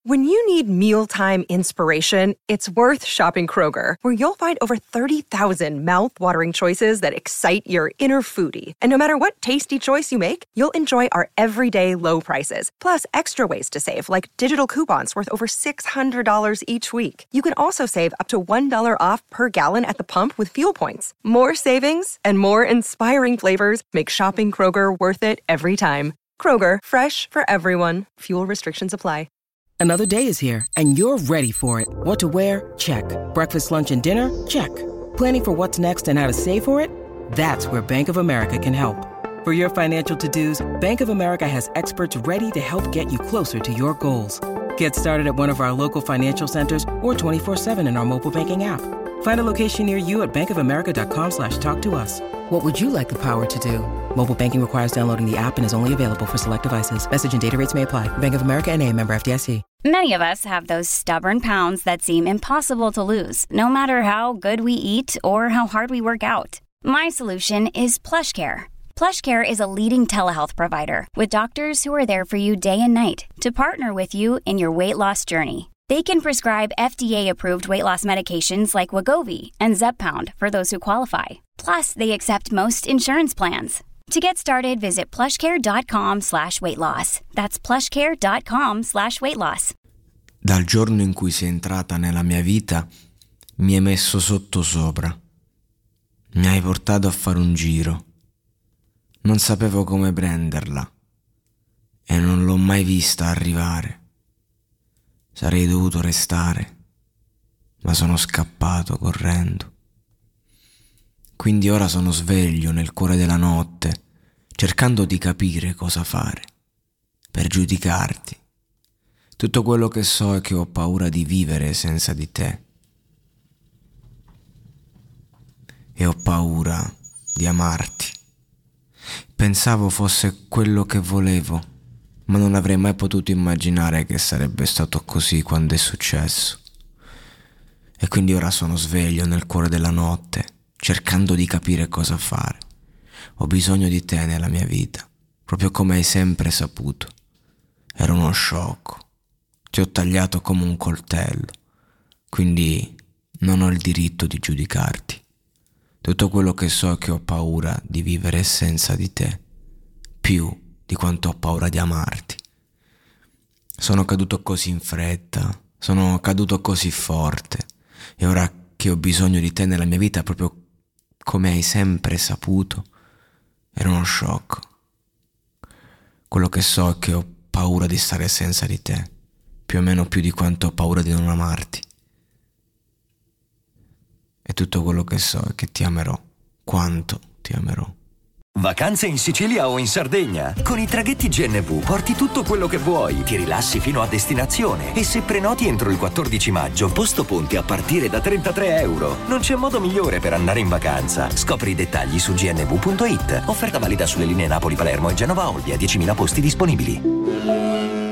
When you need mealtime inspiration, it's worth shopping Kroger, where you'll find over 30,000 mouth-watering choices that excite your inner foodie. And no matter what tasty choice you make, you'll enjoy our everyday low prices, plus extra ways to save, like digital coupons worth over $600 each week. You can also save up to $1 off per gallon at the pump with fuel points. More savings and more inspiring flavors make shopping Kroger worth it every time. Kroger, fresh for everyone. Fuel restrictions apply. Another day is here, and you're ready for it. What to wear? Check. Breakfast, lunch, and dinner? Check. Planning for what's next and how to save for it? That's where Bank of America can help. For your financial to-dos, Bank of America has experts ready to help get you closer to your goals. Get started at one of our local financial centers or 24/7 in our mobile banking app. Find a location near you at bankofamerica.com/talktous. What would you like the power to do? Mobile banking requires downloading the app and is only available for select devices. Message and data rates may apply. Bank of America N.A., member FDIC. Many of us have those stubborn pounds that seem impossible to lose, no matter how good we eat or how hard we work out. My solution is PlushCare. PlushCare is a leading telehealth provider with doctors who are there for you day and night to partner with you in your weight loss journey. They can prescribe FDA-approved weight loss medications like Wegovy and Zepbound for those who qualify. Plus, they accept most insurance plans. To get started, visit plushcare.com/weightloss. That's plushcare.com/weightloss. Dal giorno in cui sei entrata nella mia vita, mi hai messo sottosopra. Mi hai portato a fare un giro. Non sapevo come prenderla e non l'ho mai vista arrivare. Sarei dovuto restare, ma sono scappato correndo. Quindi ora sono sveglio nel cuore della notte, cercando di capire cosa fare, per giudicarti. Tutto quello che so è che ho paura di vivere senza di te. E ho paura di amarti. Pensavo fosse quello che volevo, ma non avrei mai potuto immaginare che sarebbe stato così quando è successo. E quindi ora sono sveglio nel cuore della notte, cercando di capire cosa fare. Ho bisogno di te nella mia vita, proprio come hai sempre saputo. Ero uno sciocco. Ti ho tagliato come un coltello, quindi non ho il diritto di giudicarti. Tutto quello che so è che ho paura di vivere senza di te, più di quanto ho paura di amarti. Sono caduto così in fretta, sono caduto così forte, e ora che ho bisogno di te nella mia vita, proprio come hai sempre saputo, ero uno sciocco. Quello che so è che ho paura di stare senza di te, più o meno più di quanto ho paura di non amarti. E tutto quello che so è che ti amerò, quanto ti amerò. Vacanze in Sicilia o in Sardegna? Con i traghetti GNV porti tutto quello che vuoi, ti rilassi fino a destinazione e se prenoti entro il 14 maggio, posto ponti a partire da €33. Non c'è modo migliore per andare in vacanza. Scopri i dettagli su gnv.it. Offerta valida sulle linee Napoli-Palermo e Genova-Olbia, 10.000 posti disponibili.